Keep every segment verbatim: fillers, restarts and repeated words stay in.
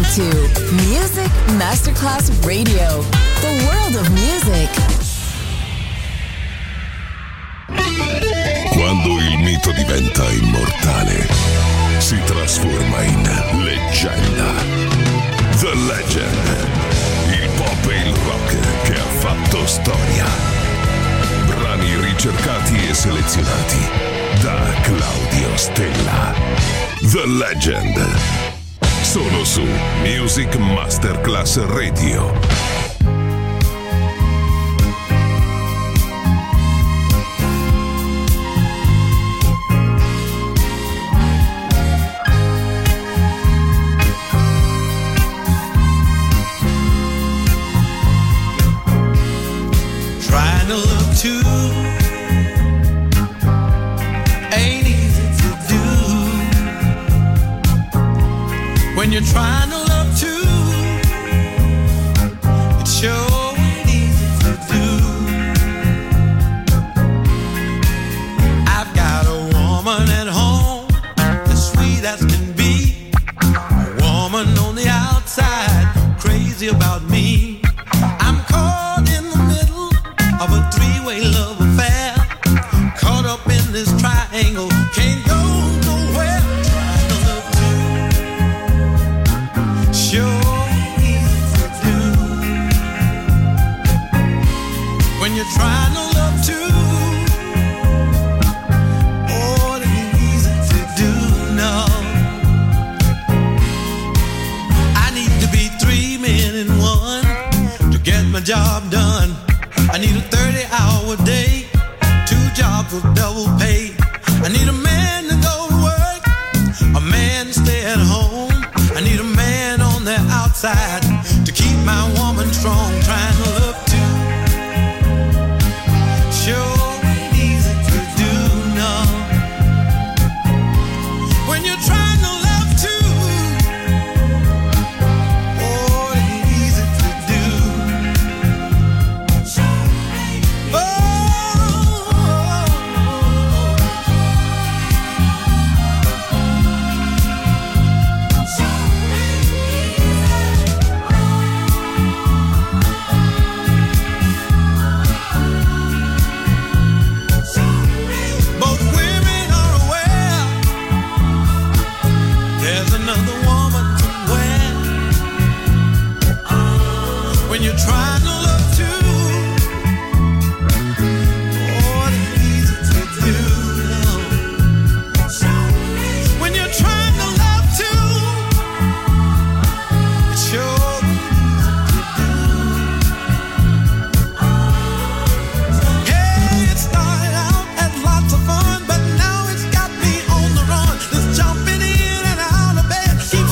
to Music Masterclass Radio, the world of music. Quando il mito diventa immortale, si trasforma in leggenda. The Legend, il pop e il rock che ha fatto storia. Brani ricercati e selezionati da Claudio Stella. The Legend, solo su Music Masterclass Radio. Too ain't easy to do when you're trying to love too. It sure ain't easy to do. I've got a woman at home as sweet as can be, a woman on the outside crazy about me. I'm caught in the middle of a three-way love affair, caught up in this triangle, can't go nowhere. Trying to love too, sure easy to do. When you're trying to love too, oh, it ain't easy to do, no. I need to be three men in one to get my job done. I need a thirty-hour day, two jobs with double pay. I need a man to go to work, a man to stay at home. I need a man on the outside to keep my woman strong. Trying to love too, sure ain't easy to do, no. When you're trying to love too, oh, it ain't easy to do. Trying to love too, oh, it ain't easy to do, no. When you're trying to love too, it sure easy to do. Yeah, it started out as lots of fun, but now it's got me on the run. This jumping in and out of bed keeps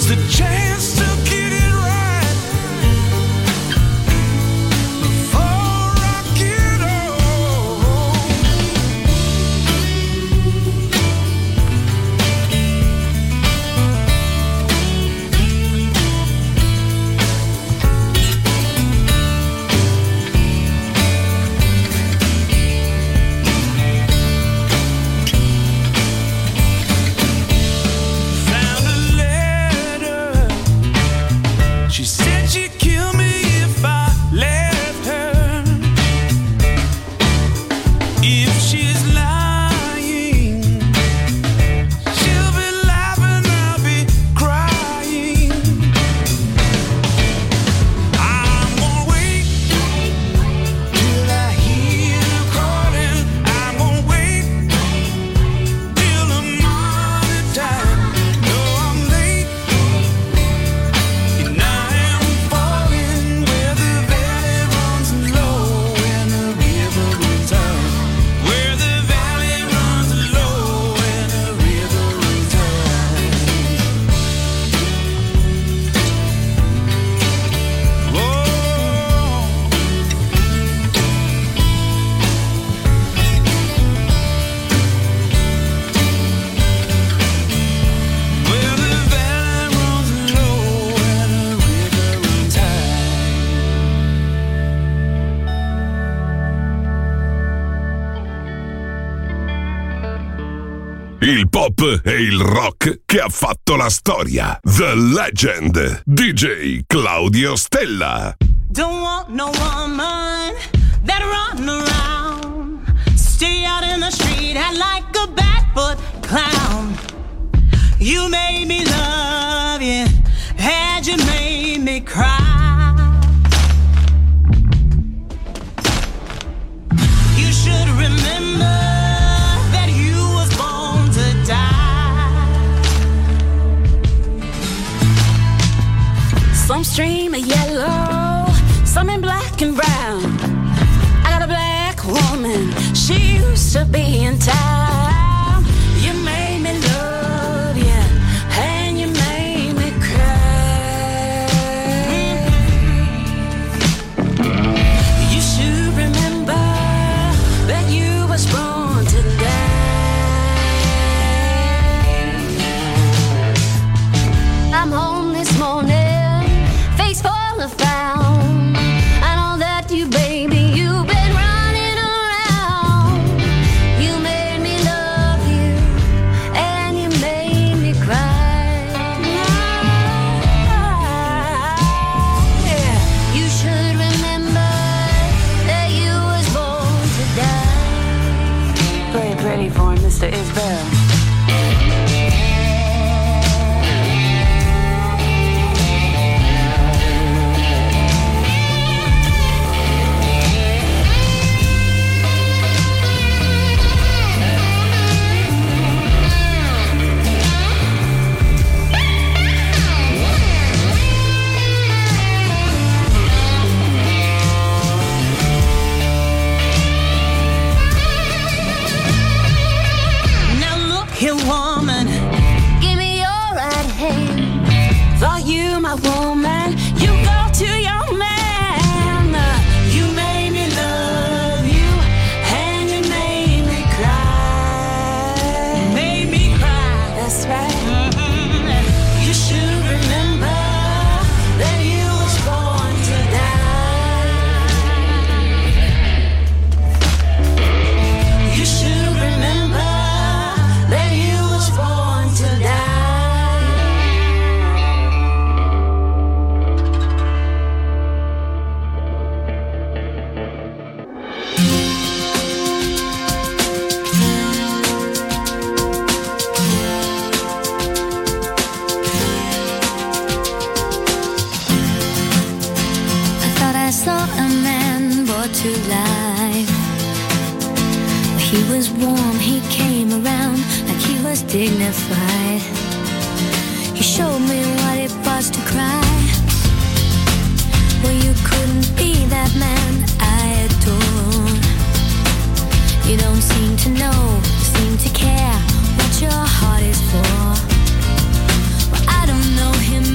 the chance to get it right before I get old. Found a letter. She said she'd kill me if I left her. If she's lying, she'll be laughing, I'll be crying. I'm gonna wait till I hear her calling. I'm gonna wait till the morning time. No, I'm late, and I am falling where the valley runs low and the river runs high. Where the valley runs low and the river runs high. Whoa. Where the valley runs low and the river runs high. Il pop e il rock che ha fatto la storia. The Legend. D J Claudio Stella. Don't want no woman that run around. Stay out in the street, act like a barefoot clown. You made me love you, and you made me cry. You should remember that you was born to die. Some stream of yellow, some in black and brown. I got a black woman, she used to be in town. You made me love you, and you made me cry. You should remember that you was born to die. I'm home this morning, face full of frown. I know that you, baby, you've been running around. You made me love you, and you made me cry. Yeah. You should remember that you was born to die. Play it pretty for him, Mister Isbell. Now look here, woman, give me your right hand. Thought you my woman, you go to your man. You made me love you, and you made me cry. Made me cry. That's right. Mhm. You should remember that you was born to die. You should remember that you was born to die. I thought I saw a man brought to life. He was warm, he came around like he was dignified. He showed me what it was to cry. Well, you couldn't be that man I adore. You don't seem to know, seem to care what your heart is for. Well, I don't know him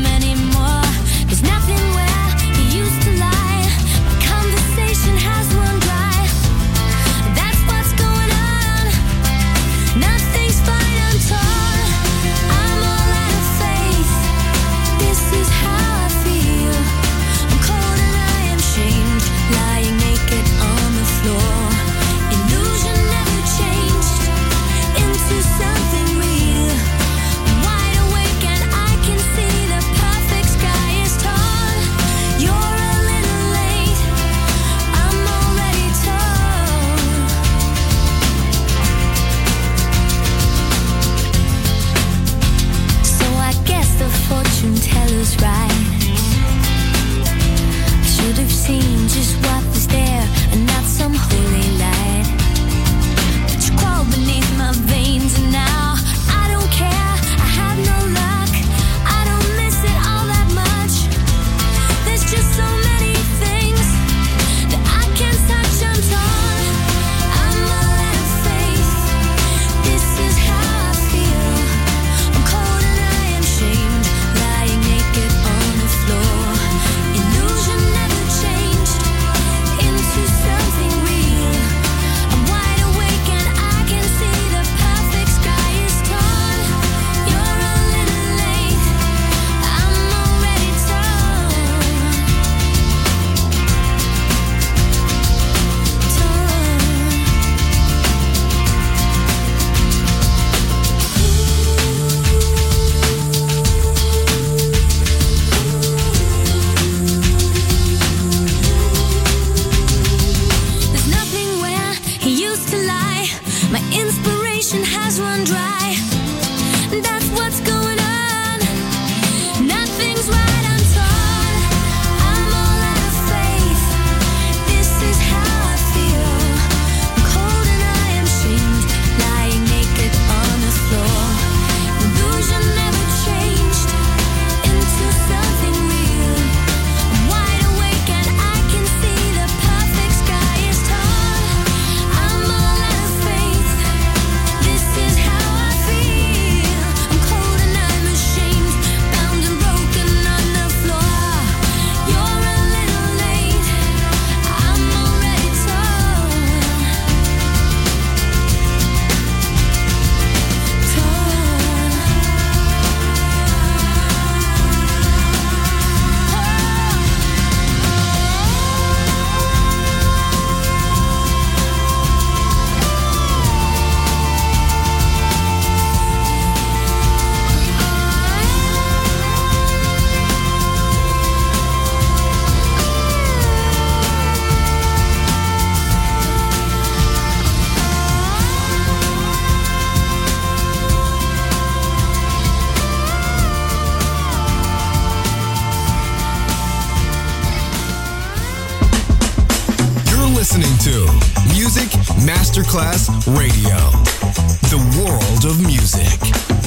listening to Music Masterclass Radio, the world of music.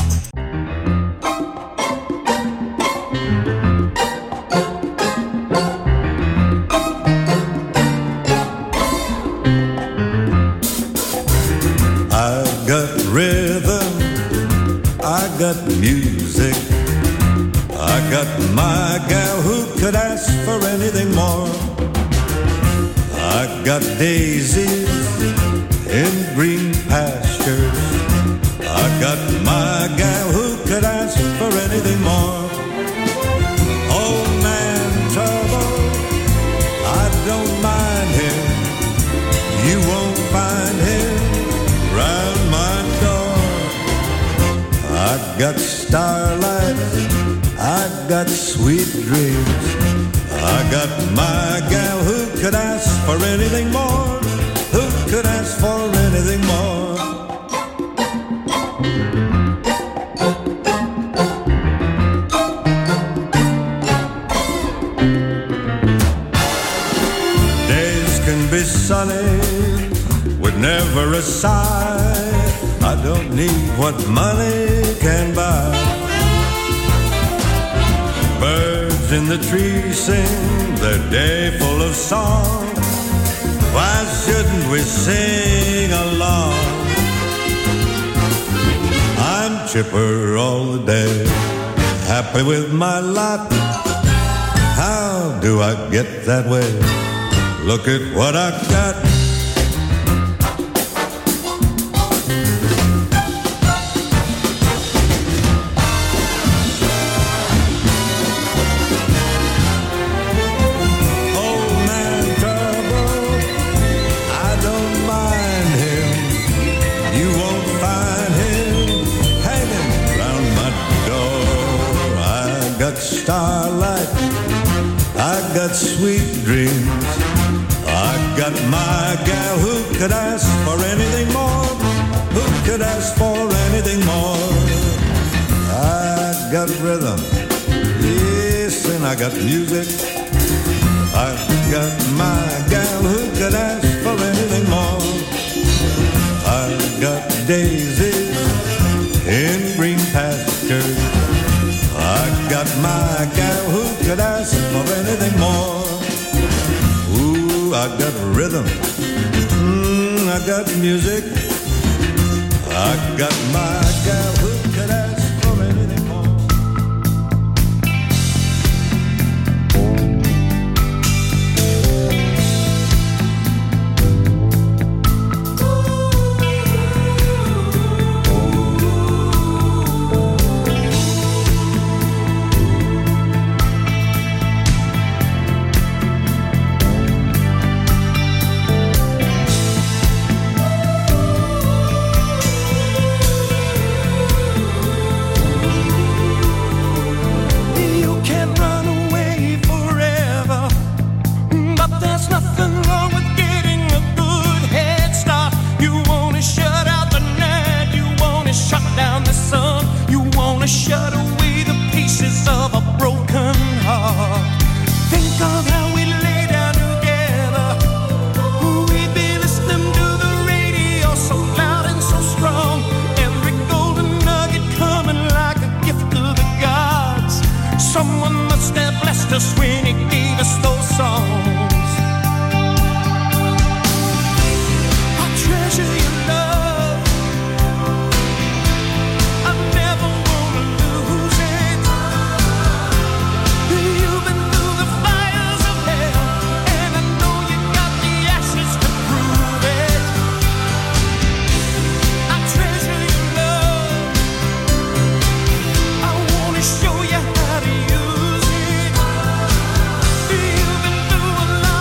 I got rhythm, I got music, I got my gal who could ask for anything more. I got daisies in green pastures, I got my gal who could ask for anything more. Old man trouble, I don't mind him, you won't find him round my door. I got starlight, I got sweet dreams, I got my gal who could ask for anything more, who could ask for anything more. Days can be sunny with never a sigh, I don't need what money can buy. Birds in the trees sing their day full of song, why shouldn't we sing along? I'm chipper all the day, happy with my lot. How do I get that way? Look at what I got. Starlight, I got sweet dreams, I got my gal who could ask for anything more, who could ask for anything more. I got rhythm, yes, and I got music, I got my gal who could ask for anything more. I got daisies in green pastures, I got my gal who could ask for anything more. Ooh, I got rhythm, mm, I got music, I got my gal who could ask for anything more. Shut away the pieces of a broken heart. Think of how we lay down together. We'd be listening to the radio so loud and so strong. Every golden nugget coming like a gift to the gods. Someone must have blessed us when he gave us those songs. I treasure your love. Show you how to use it. You've been through a lot.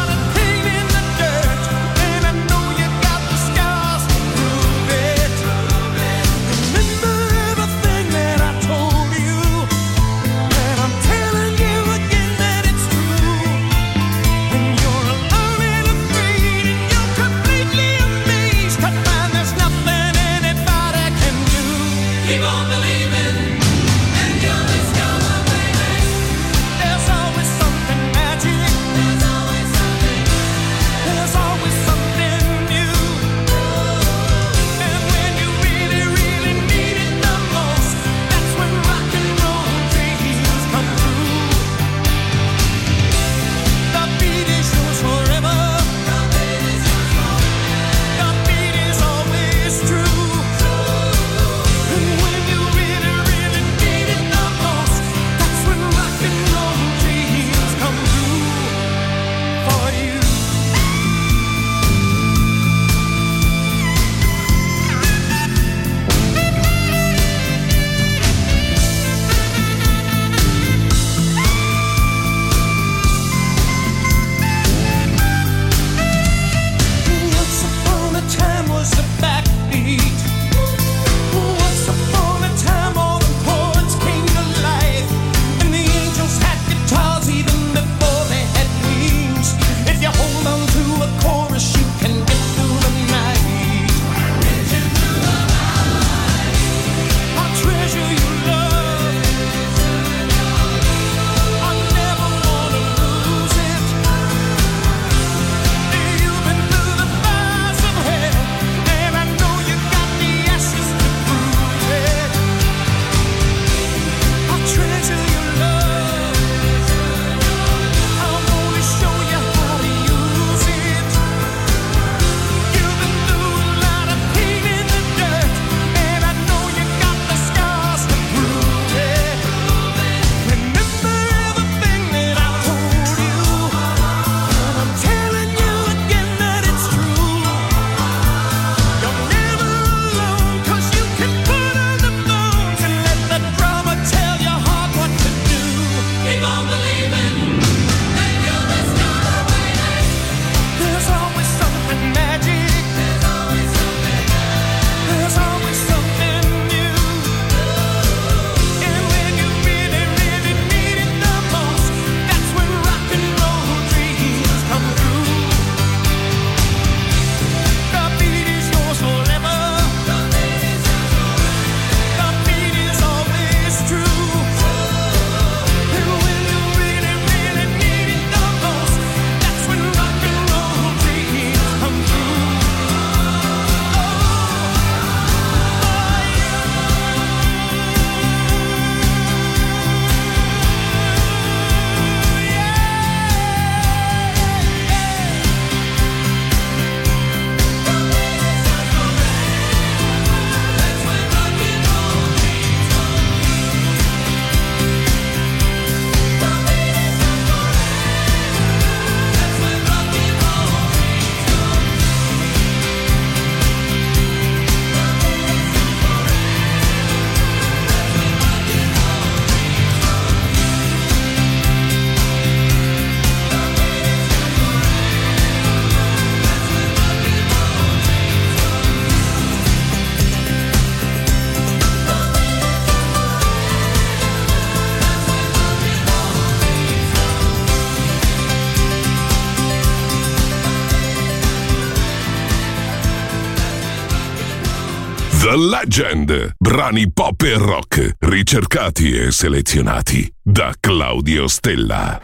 The Legend, brani pop e rock, ricercati e selezionati da Claudio Stella.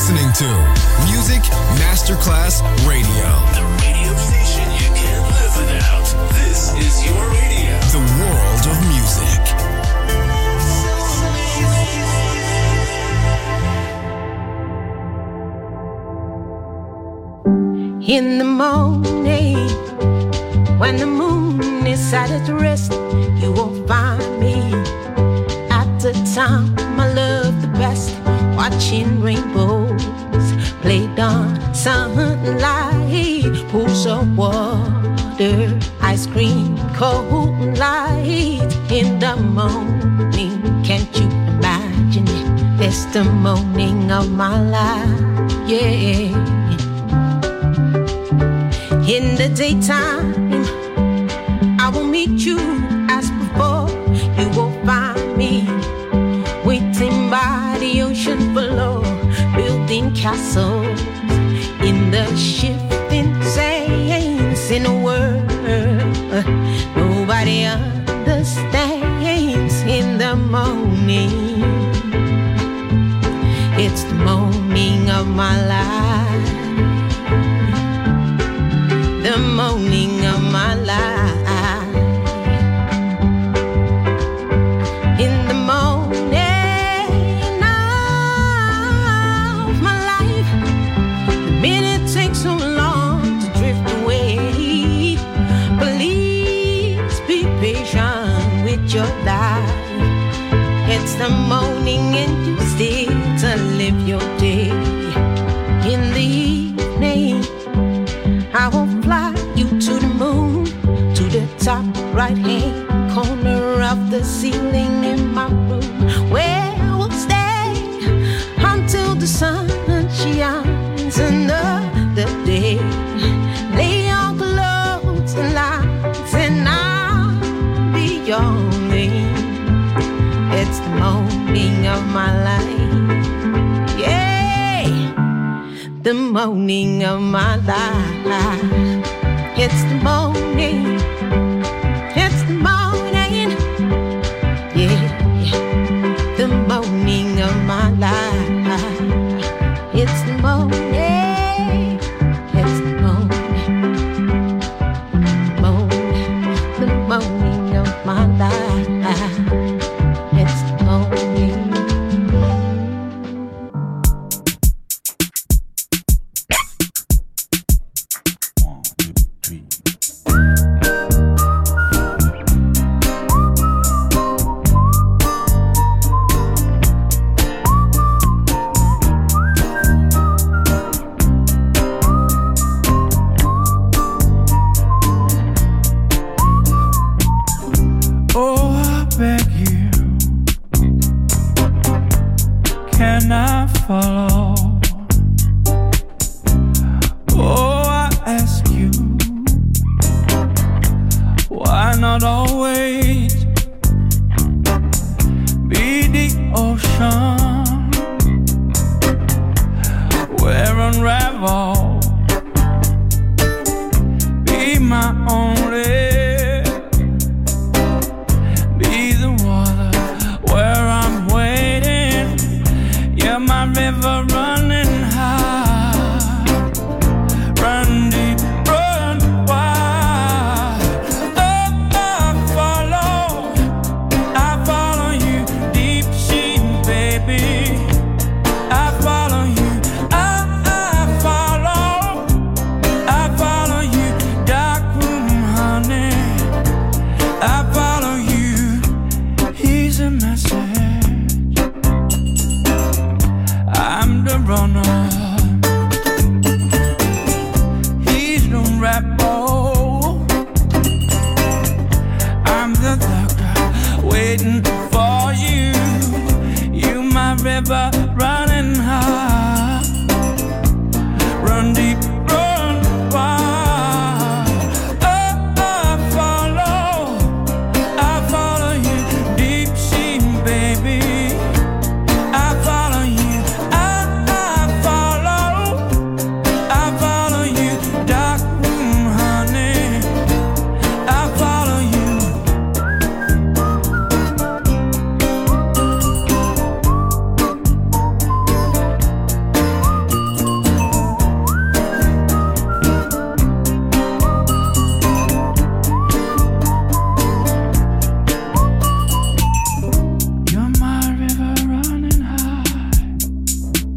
listening to Music Masterclass Radio. The radio station you can't live without. This is your radio. The world of music. In the morning, when the moon is at its rest, you will find me at the time I love the best, watching rainbows played on sunlight, pools of water, ice cream, cold light. In the morning, can't you imagine it? It's the morning of my life, yeah. In the daytime, I will meet you as before. You will find me waiting by the ocean below, building castles in the shifting sands. In a world nobody understands. In the morning, it's the morning of my life. The morning of my life. In the morning of my life, the minute takes so long to drift away. Please be patient with your life. It's the morning and you still to live your day. In the evening, I will fly you to the moon, to the top right-hand corner of the ceiling in my room, where we'll stay until the sun shines another day. Lay your clothes and lights and I'll be your name. It's the morning of my life, yeah, the morning of my life. It's the morning, it's the morning, yeah, the morning of my life. It's the morning, it's the morning, morning, the morning of my life. It's the morning.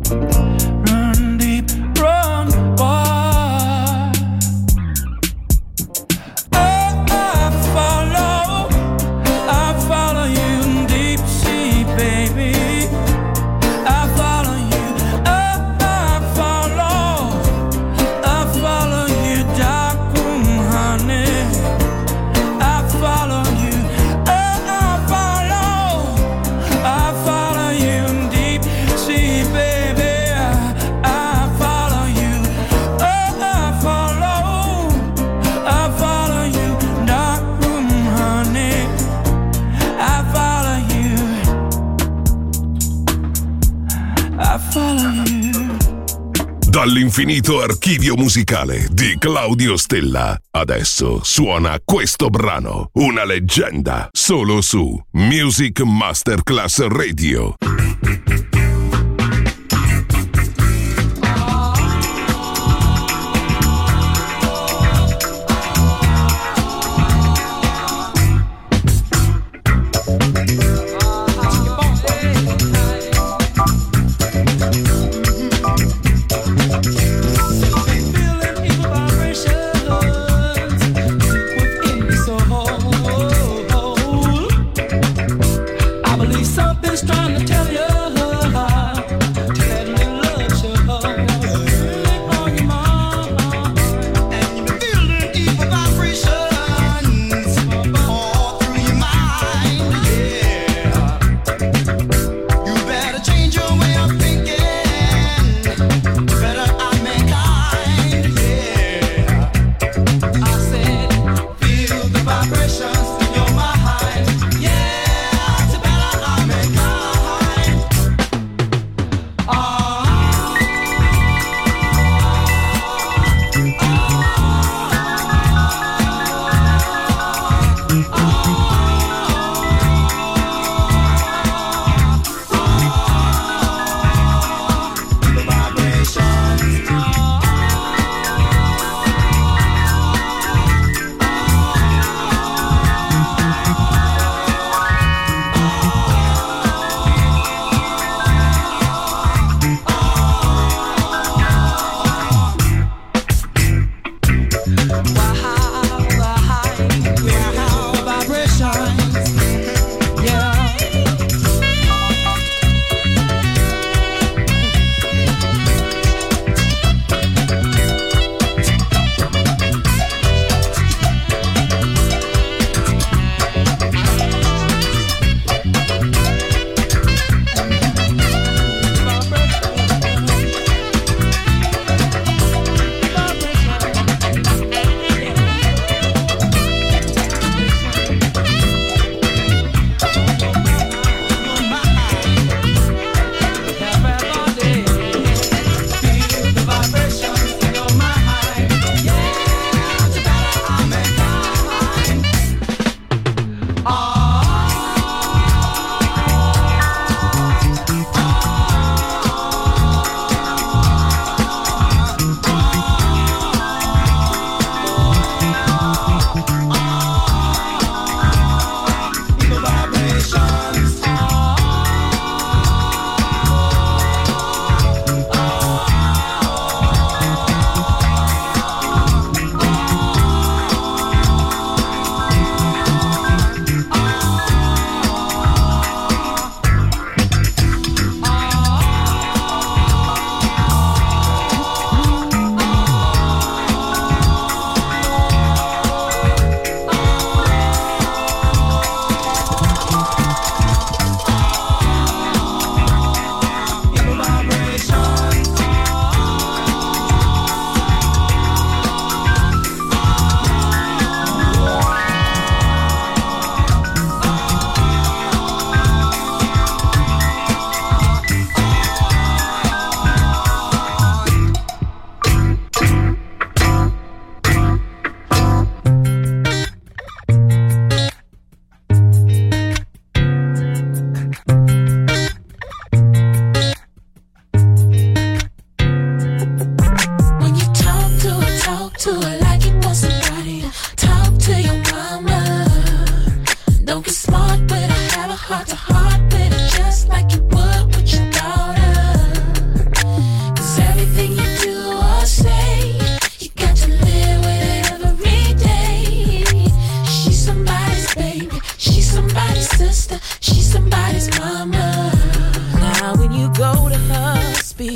Run deep, run wide. Oh, I follow, I follow you in deep sea, baby. I follow you. Oh, I follow, I follow you, dark room, honey. I follow you. Oh, I follow, I follow you in deep sea, baby. I follow you. Oh, I follow, I follow you, dark room, honey. I follow you. I follow you. Dall'infinito archivio musicale di Claudio Stella, adesso suona questo brano, una leggenda, solo su Music Masterclass Radio. Feeling evil vibrations within me so whole. I believe something's trying to tell you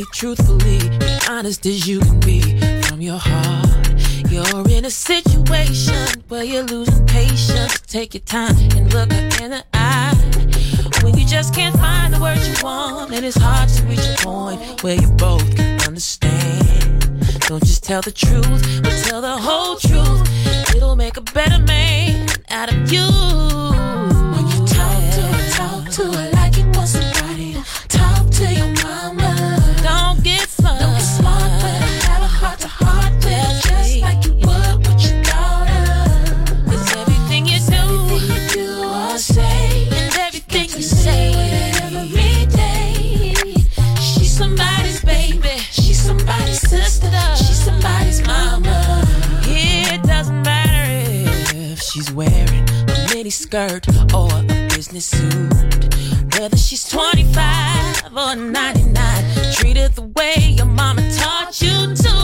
me truthfully, be honest as you can be from your heart. You're in a situation where you're losing patience. Take your time and look her in the eye. When you just can't find the words you want, and it's hard to reach a point where you both can understand. Don't just tell the truth, but tell the whole truth. It'll make a better man out of you. When you talk to her, talk to her like it was somebody. Talk to your mama. Don't get smart. Don't get smart, but have a heart to heart with her, just like you would with your daughter. 'Cause everything you do, everything you do or say, and everything you say every day, she's somebody's baby, she's somebody's sister, she's somebody's mama. It doesn't matter if she's wearing a mini skirt or a business suit, whether she's twenty-five or ninety-nine, treat her the way your mama taught you to.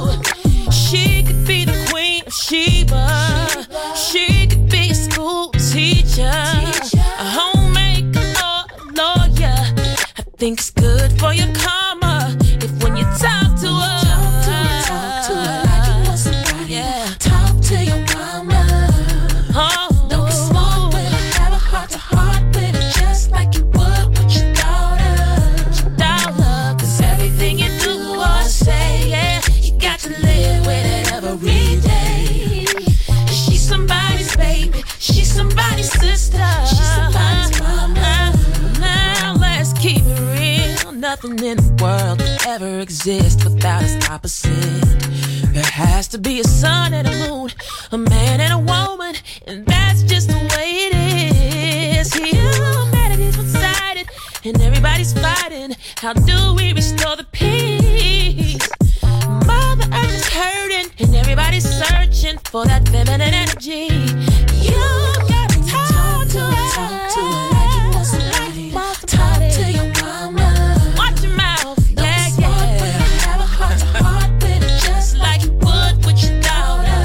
She could be the queen of Sheba, she could be a school teacher, a homemaker or a lawyer. I think it's good for your karma if when you talk to her, talk to her, talk to her like it was somebody. Yeah. Talk to your mama. Oh, don't get smart with her, have a heart to heart with her, just like you would with your daughter. Your daughter, 'cause everything you do or say, yeah, you got to live with it every day. And she's somebody's baby, she's somebody's sister, she's somebody's mama. Now let's keep it real. Nothing in the world could ever exist without its opposite. There has to be a sun and a moon, a man and a woman, and that's just the way it is. Humanity's one-sided, and everybody's fighting. How do we restore the peace? Mother Earth is hurting, and everybody's searching for that feminine energy. You gotta talk to her, talk to her like you want somebody. Talk to your mama. Watch your mouth, yeah, yeah. Have a heart to heart with her, just like you would with your daughter.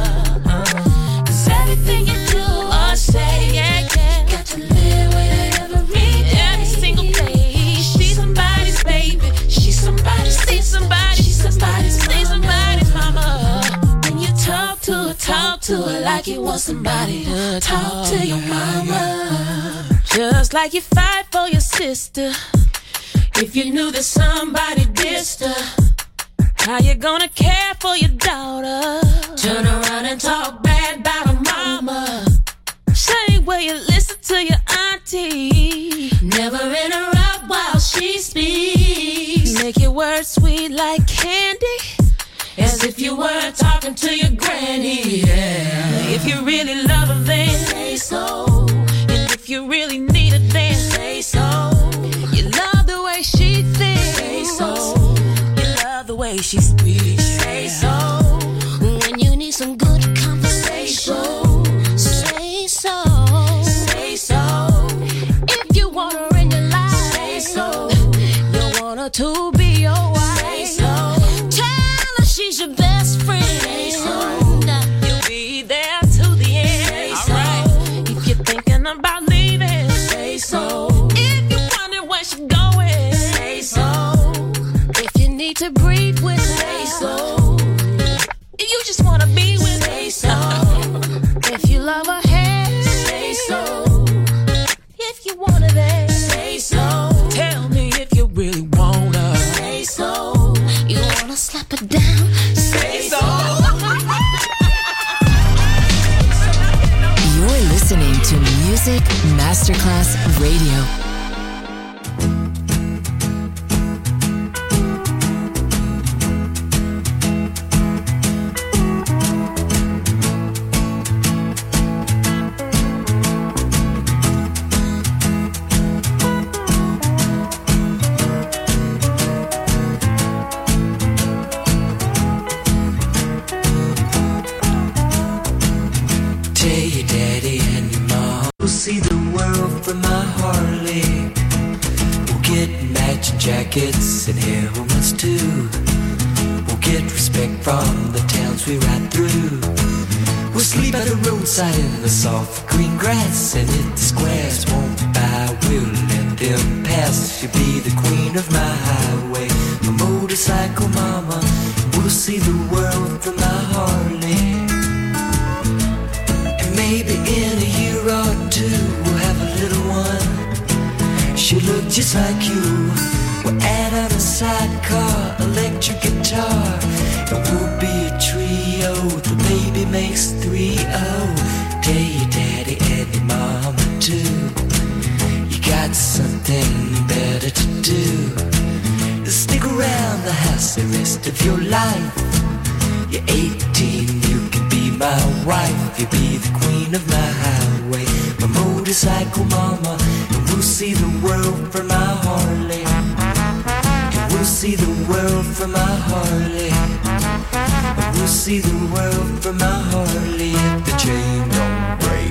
'Cause everything you do or say, yeah, yeah, you got to live with it every day. Every single day. She's somebody's baby, she's somebody's, see somebody, she's somebody's, see somebody's mama. When you talk to her, talk to her like you want somebody to talk to your mama. Just like you fight for your sister. If you knew that somebody dissed her, how you gonna care for your daughter? Turn around and talk bad about her mama. Same way you listen to your auntie. Never interrupt while she speaks. Make your words sweet like candy, as if you were talking to your granny. Yeah. If you really love her, then say so. And if you really need her, then say so. You love the way she thinks. Say so. You love the way she speaks. Say so. When you need some good conversation, say so. Say so. If you want her in your life, say so. You want her to be your wife, say so. Tell her she's your best friend, say so. You'll be there to the end, say so. Right. If you're thinking about leaving, say so. If you're wondering where she's going, say so. If you need to breathe with her, say so. If you just wanna be with her, say so. If you love her hair, say so. If you want her there, say so. Tell me if you really want her, say so. You wanna slap her down, say so. You're listening to Music Masterclass Radio. See the world from my Harley. We'll get matching jackets and helmets too. We'll get respect from the towns we ride through. We'll sleep at the roadside in the soft green grass, and if the squares won't buy, we'll let them pass. She'll be the queen of my highway. motorcycle mama. We'll see the world from my Harley. And maybe in a year or two we'll have a little one. She'll look just like you. We'll add on a sidecar, electric guitar, and we'll be a trio. The baby makes three oh. Tell your daddy and your mama too. You got something better to do. Stick around the house the rest of your life. You're eighteen, you can be my wife. You'll be the queen of my highway, my motorcycle mama. And we'll see the world from my Harley. And we'll see the world from my Harley. And we'll see the world from my Harley if the chain don't break.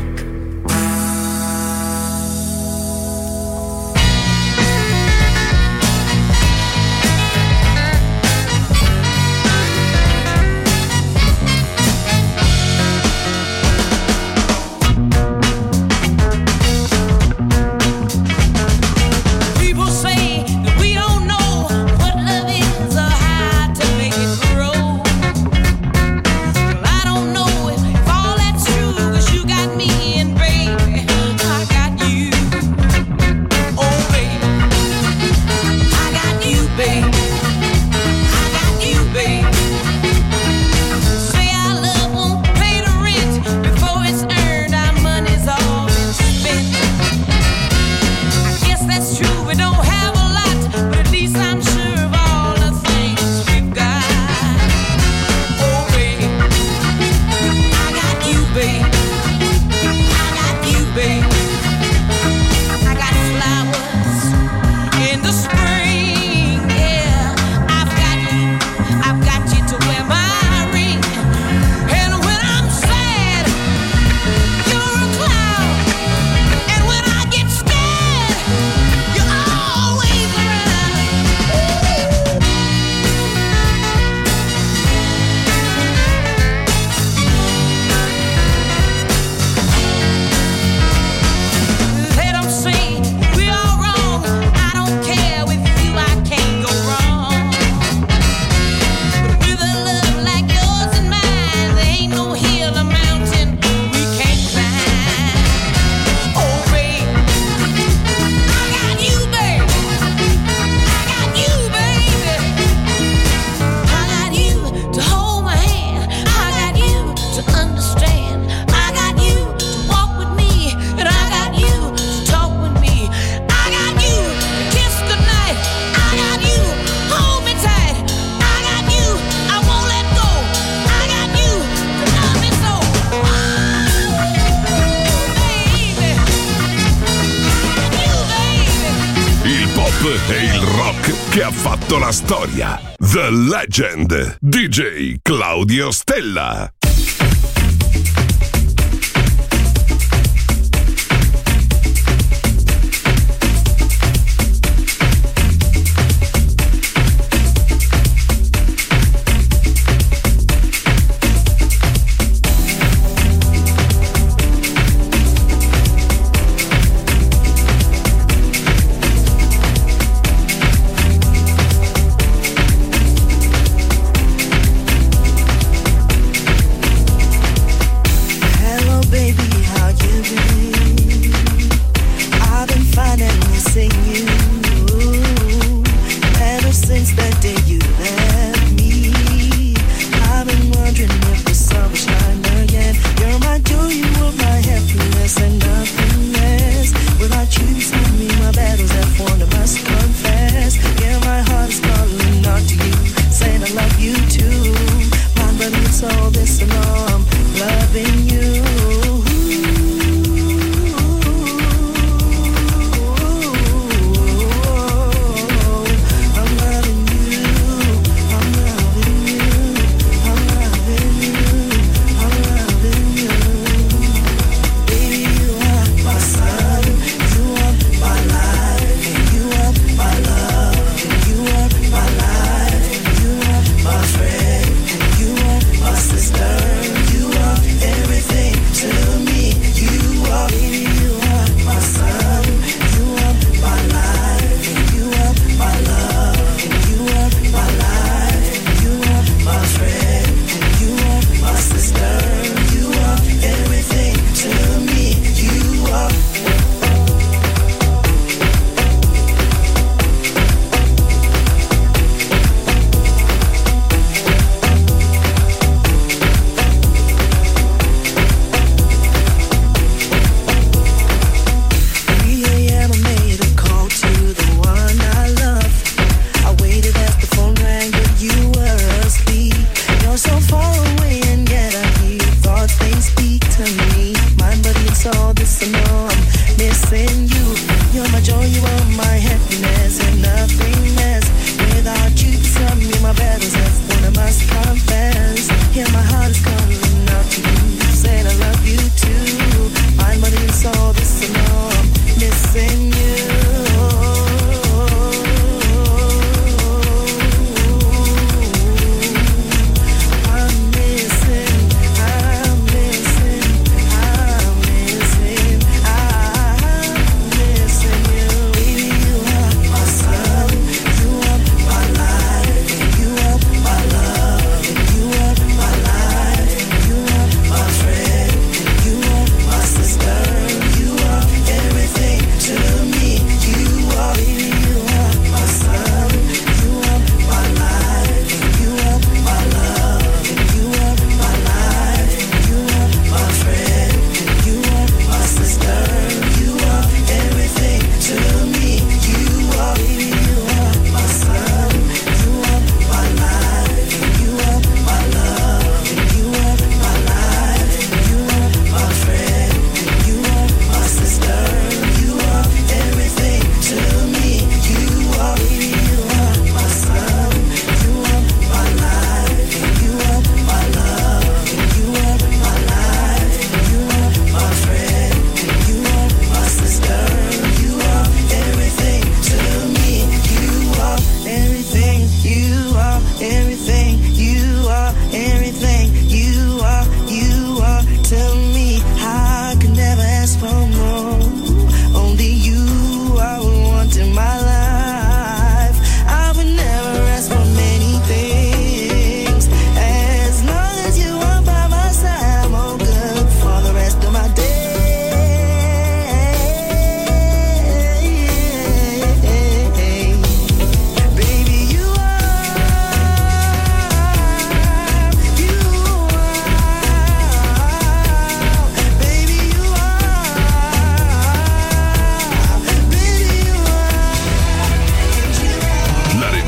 che ha fatto la storia. The Legend, D J Claudio Stella.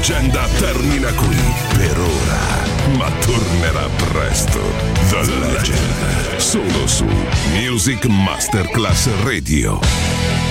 leggenda termina qui per ora, ma tornerà presto. The Legend, solo su Music Masterclass Radio.